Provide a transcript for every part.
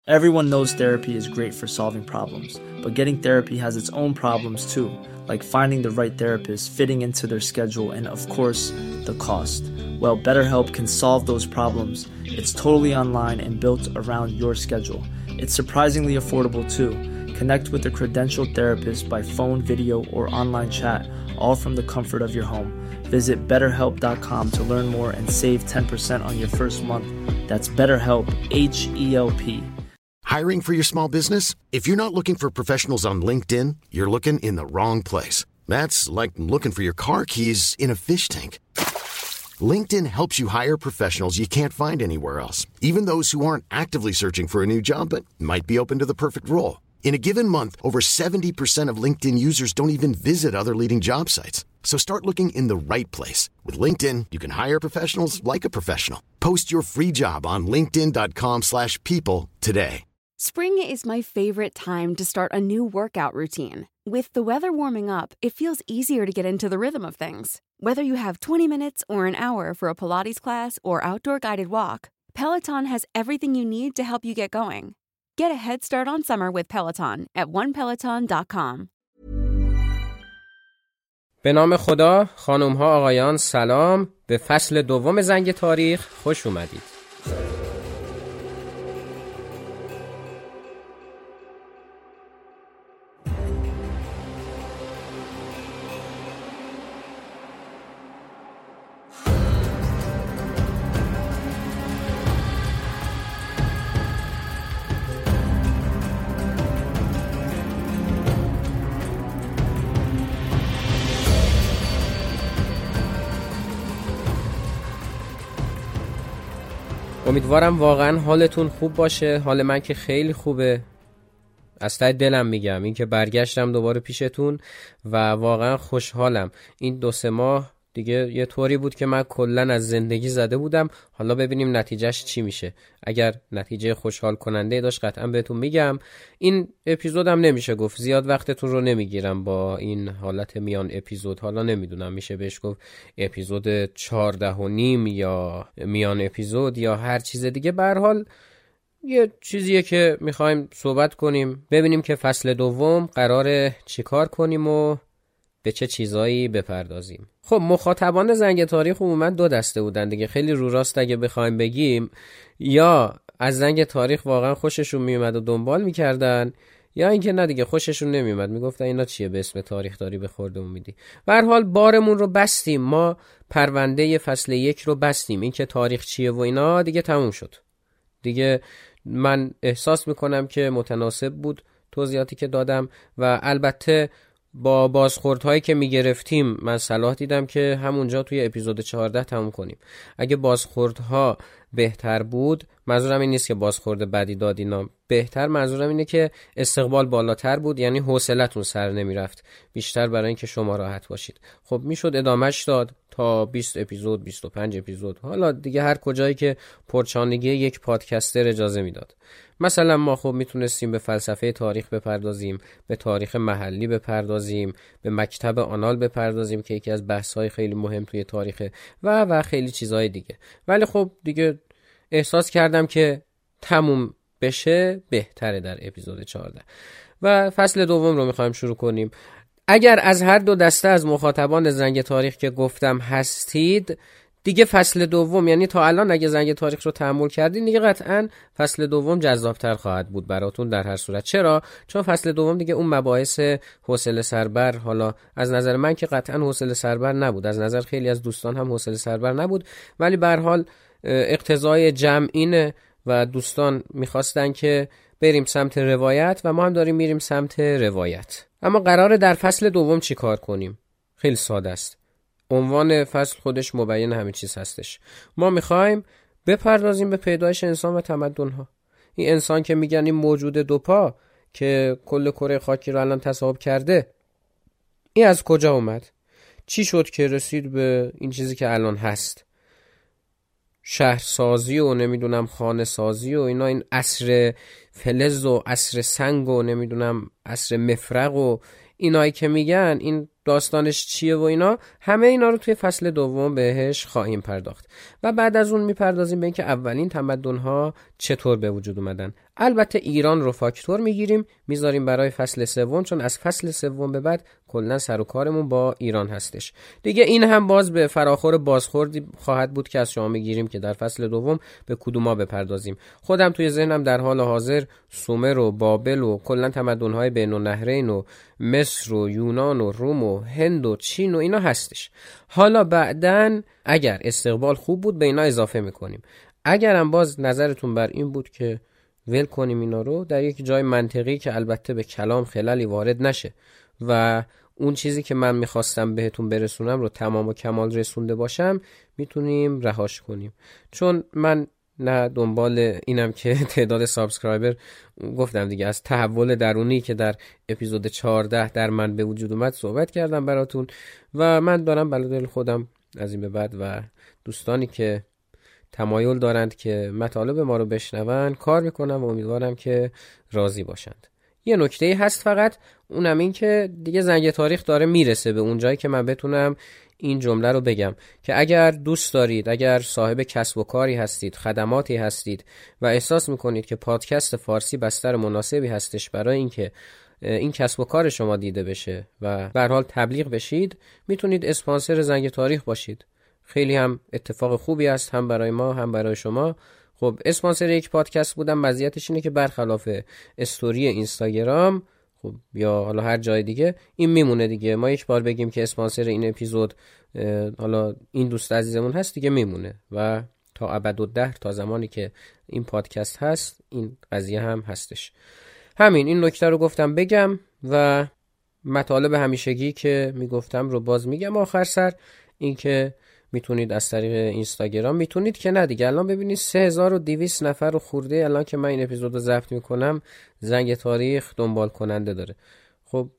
Everyone knows therapy is great for solving problems, but getting therapy has its own problems too, like finding the right therapist, fitting into their schedule, and of course, the cost. Well, BetterHelp can solve those problems. It's totally online and built around your schedule. It's surprisingly affordable too. Connect with a credentialed therapist by phone, video, or online chat, all from the comfort of your home. Visit BetterHelp.com to learn more and save 10% on your first month. That's BetterHelp, H-E-L-P. Hiring for your small business? If you're not looking for professionals on LinkedIn, you're looking in the wrong place. That's like looking for your car keys in a fish tank. LinkedIn helps you hire professionals you can't find anywhere else, even those who aren't actively searching for a new job but might be open to the perfect role. In a given month, over 70% of LinkedIn users don't even visit other leading job sites. So start looking in the right place. With LinkedIn, you can hire professionals like a professional. Post your free job on linkedin.com/people today. Spring is my favorite time to start a new workout routine. With the weather warming up, it feels easier to get into the rhythm of things. Whether you have 20 minutes or an hour for a Pilates class or outdoor guided walk, Peloton has everything you need to help you get going. Get a head start on summer with Peloton at onepeloton.com. به نام خدا، خانم‌ها آقایان سلام، به فصل دوم زنگ تاریخ خوش اومدید. امیدوارم واقعا حالتون خوب باشه. حال من که خیلی خوبه، از ته دلم میگم. این که برگشتم دوباره پیشتون و واقعا خوشحالم. این 2-3 ماه دیگه یه طوری بود که من کلن از زندگی زده بودم. حالا ببینیم نتیجهش چی میشه. اگر نتیجه خوشحال کننده داشت قطعا بهتون میگم. این اپیزودم نمیشه گفت زیاد وقتتون رو نمیگیرم با این حالت میان اپیزود. حالا نمیدونم میشه بهش گفت اپیزود 14.5 یا میان اپیزود یا هر چیز دیگه. به هر حال یه چیزیه که میخوایم صحبت کنیم، ببینیم که فصل دوم قراره چیکار کنیم و به چه چیزایی بپردازیم. خب مخاطبان زنگ تاریخ عموما 2 دسته بودن دیگه. خیلی رو راست اگه بخوایم بگیم، یا از زنگ تاریخ واقعا خوششون میومد و دنبال میکردن، یا اینکه نه دیگه خوششون نمیومد، میگفتن اینا چیه به اسم تاریخ داری به خوردمون میدی. به هر حال بارمون رو بستیم، ما پرونده فصل 1 رو بستیم. این که تاریخ چیه و اینا دیگه تموم شد. دیگه من احساس میکنم که متناسب بود توضیحاتی که دادم و البته با بازخوردهایی که میگرفتیم من صلاح دیدم که همونجا توی اپیزود 14 تموم کنیم. اگه بازخوردها بهتر بود، منظورم این نیست که بازخورد بدی دادینا، بهتر منظورم اینه که استقبال بالاتر بود، یعنی حوصلتون سر نمیرفت بیشتر برای اینکه شما راحت باشید. خب میشد ادامهش داد تا 20 اپیزود 25 اپیزود، حالا دیگه هر کجایی که پرچانگی یک پادکستر اجازه میداد. مثلا ما خب میتونستیم به فلسفه تاریخ بپردازیم، به تاریخ محلی بپردازیم، به مکتب آنال بپردازیم که یکی از بحث‌های خیلی مهم توی تاریخه و خیلی چیزهای دیگه. ولی خب دیگه احساس کردم که تموم بشه بهتره در اپیزود 14 و فصل دوم رو میخوایم شروع کنیم. اگر از هر 2 دسته از مخاطبان زنگ تاریخ که گفتم هستید، دیگه فصل دوم، یعنی تا الان اگه زنگ تاریخ رو تحمل کردین، دیگه قطعاً فصل دوم جذابتر خواهد بود براتون در هر صورت. چرا؟ چون فصل دوم دیگه اون مباحث حوصله سربر، حالا از نظر من که قطعاً حوصله سربر نبود، از نظر خیلی از دوستان هم حوصله سربر نبود، ولی به هر حال اقتضای جمع اینه و دوستان میخواستن که بریم سمت روایت و ما هم داریم میریم سمت روایت. اما قراره در فصل دوم چی کار کنیم؟ خیلی ساده است. عنوان فصل خودش مبین همه چیز هستش. ما میخوایم بپردازیم به پیدایش انسان و تمدن‌ها. این انسان که میگن این موجود 2 پا که کل کره خاکی رو الان تصاحب کرده، این از کجا اومد؟ چی شد که رسید به این چیزی که الان هست؟ شهرسازی و نمیدونم خانه سازی و اینا، این عصر فلز و عصر سنگ و نمیدونم عصر مفرق و اینایی که میگن، این داستانش چیه و اینا، همه اینا رو توی فصل دوم بهش خواهیم پرداخت و بعد از اون میپردازیم به اینکه اولین تمدن‌ها چطور به وجود اومدن. البته ایران رو فاکتور میگیریم میذاریم برای فصل سوم، چون از فصل سوم به بعد کلا سر و کارمون با ایران هستش دیگه. این هم باز به فراخور بازخوردی خواهد بود که از شما میگیریم که در فصل دوم به کدوما بپردازیم. خودم توی ذهنم در حال حاضر سومر و بابل و کلا تمدن‌های بین النهرین و مصر و یونان و روم و هند و چین و اینا هستش. حالا بعدن اگر استقبال خوب بود به اینا اضافه میکنیم. اگرم باز نظرتون بر این بود که ول کنیم اینا رو در یک جای منطقی که البته به کلام خللی وارد نشه و اون چیزی که من میخواستم بهتون برسونم رو تمام و کمال رسونده باشم، میتونیم رهاش کنیم. چون من نه دنبال اینم که تعداد سابسکرایبر، گفتم دیگه از تحول درونی که در اپیزود 14 در من به وجود اومد صحبت کردم براتون و من دارم بلادل خودم از این به بعد و دوستانی که تمایل دارند که مطالب ما رو بشنون کار میکنم و امیدوارم که راضی باشند. یه نکته هست فقط، اونم این که دیگه زنگ تاریخ داره میرسه به اون جایی که من بتونم این جمله رو بگم که اگر دوست دارید، اگر صاحب کسب و کاری هستید، خدماتی هستید و احساس میکنید که پادکست فارسی بستر مناسبی هستش برای اینکه این کسب و کار شما دیده بشه و به هر حال تبلیغ بشید، میتونید اسپانسر زنگ تاریخ باشید. خیلی هم اتفاق خوبی است، هم برای ما هم برای شما. خب اسپانسر یک پادکست بودن مزیتش اینه که برخلاف استوری اینستاگرام خب یا حالا هر جای دیگه این میمونه دیگه. ما یک بار بگیم که اسپانسر این اپیزود حالا این دوست عزیزمون هست دیگه میمونه و تا ابدالدهر، تا زمانی که این پادکست هست این قضیه هم هستش. همین این نکته رو گفتم بگم و مطالب همیشگی که میگفتم رو باز میگم آخر سر، این که میتونید از طریق اینستاگرام، میتونید که نه دیگه، الان ببینید 3200 نفر و خورده الان که من این اپیزود رو ضبط میکنم زنگ تاریخ دنبال کننده داره. خب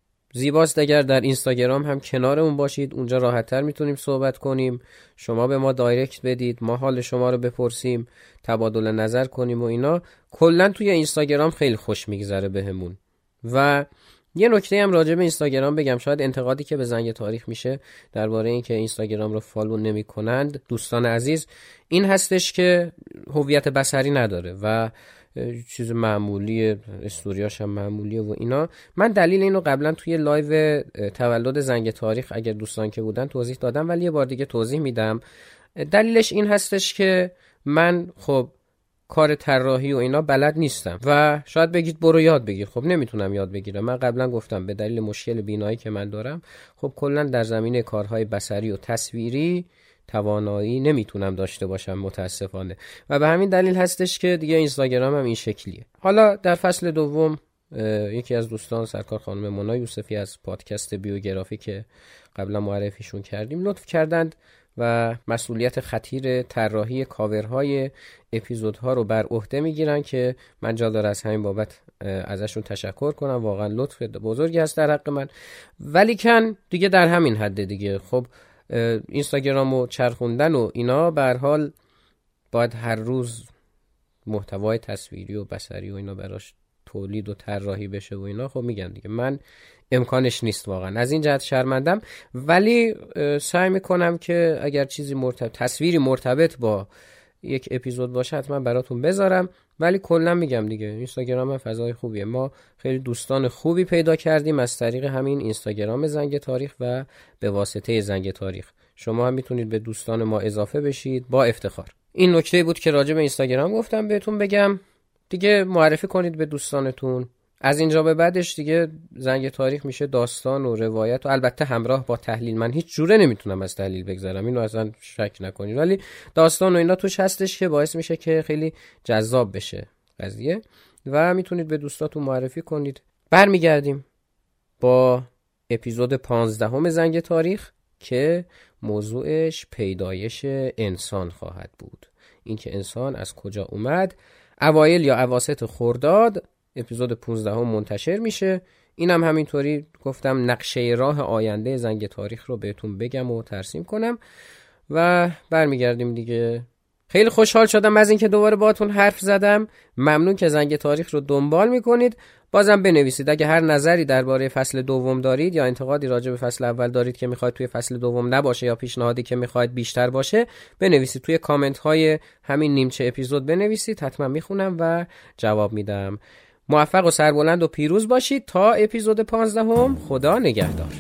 زیباست اگر در اینستاگرام هم کنارمون باشید، اونجا راحت‌تر میتونیم صحبت کنیم، شما به ما دایرکت بدید، ما حال شما رو بپرسیم، تبادل نظر کنیم و اینا. کلا توی اینستاگرام خیلی خوش میگذره بهمون. و یه نکته هم راجع به اینستاگرام بگم، شاید انتقادی که به زنگ تاریخ میشه درباره این که اینستاگرام رو فالو نمی‌کنند دوستان عزیز این هستش که هویت بصری نداره و چیز معمولیه، استوریاش هم معمولیه و اینا. من دلیل اینو قبلا توی لایو تولد زنگ تاریخ اگر دوستان که بودن توضیح دادم، ولی یه بار دیگه توضیح میدم. دلیلش این هستش که من خب کار طراحی و اینا بلد نیستم و شاید بگید برو یاد بگیر. خب نمیتونم یاد بگیرم. من قبلا گفتم به دلیل مشکل بینایی که من دارم خب کلا در زمینه کارهای بصری و تصویری توانایی نمیتونم داشته باشم متاسفانه و به همین دلیل هستش که دیگه اینستاگرام هم این شکلیه. حالا در فصل دوم یکی از دوستان سرکار خانم مونا یوسفی از پادکست بیوگرافی که قبلا معرفیشون کردیم لطف کردند و مسئولیت خطیر طراحی کاورهای اپیزودها رو بر عهده میگیرن که من جا داره از همین بابت ازشون تشکر کنم. واقعا لطف بزرگی هست در حق من، ولی کن دیگه در همین حد دیگه. خب اینستاگرامو چرخوندن و اینا به هر حال باید هر روز محتوای تصویری و بصری و اینا براش تولید و طراحی بشه و اینا. خب میگم دیگه من امکانش نیست واقعا، از این جهت شرمندم، ولی سعی میکنم که اگر چیزی تصویری مرتبط با یک اپیزود باشه حتما براتون بذارم. ولی کلا میگم دیگه اینستاگرام هم فضای خوبیه. ما خیلی دوستان خوبی پیدا کردیم از طریق همین اینستاگرام زنگ تاریخ و به واسطه زنگ تاریخ شما هم میتونید به دوستان ما اضافه بشید با افتخار. این نکته بود که راجع به اینستاگرام گفتم بهتون بگم. دیگه معرفی کنید به دوستانتون. از اینجا به بعدش دیگه زنگ تاریخ میشه داستان و روایت و البته همراه با تحلیل. من هیچ جوره نمیتونم از تحلیل بگذرم، اینو اصلا شک نکنید، ولی داستان و اینا توش هستش که باعث میشه که خیلی جذاب بشه قضیه و میتونید به دوستاتون معرفی کنید. برمیگردیم با اپیزود 15 زنگ تاریخ که موضوعش پیدایش انسان خواهد بود. اینکه انسان از کجا اومد. اوایل یا اواسط خرداد اپیزود 15 منتشر میشه. اینم همینطوری گفتم نقشه راه آینده زنگ تاریخ رو بهتون بگم و ترسیم کنم و برمیگردیم دیگه خیلی خوشحال شدم از اینکه دوباره باهاتون حرف زدم. ممنون که زنگ تاریخ رو دنبال میکنید. بازم بنویسید اگه هر نظری درباره فصل دوم دارید یا انتقادی راجع به فصل اول دارید که میخواید توی فصل دوم نباشه یا پیشنهادی که میخواید بیشتر باشه، بنویسید توی کامنت های همین نیمچه اپیزود بنویسید، حتما میخونم و جواب میدم. موفق و سربلند و پیروز باشید تا اپیزود 15. خدا نگهدار.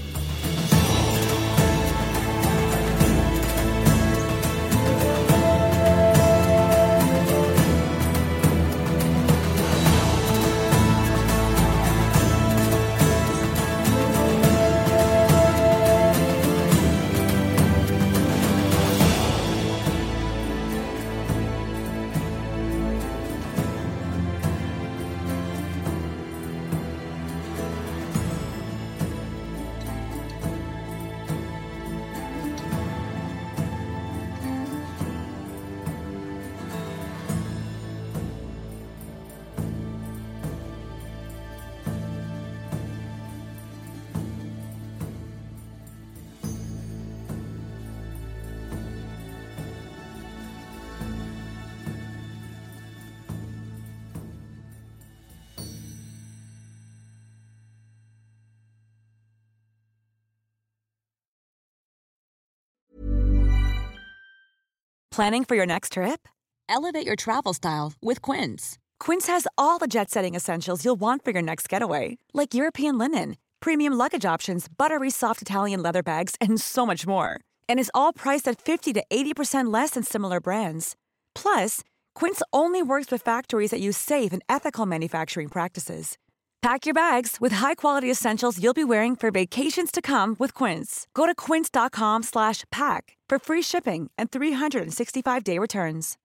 Planning for your next trip? Elevate your travel style with Quince. Quince has all the jet-setting essentials you'll want for your next getaway, like European linen, premium luggage options, buttery soft Italian leather bags, and so much more. And is all priced at 50 to 80% less than similar brands. Plus, Quince only works with factories that use safe and ethical manufacturing practices. Pack your bags with high-quality essentials you'll be wearing for vacations to come with Quince. Go to quince.com/pack for free shipping and 365-day returns.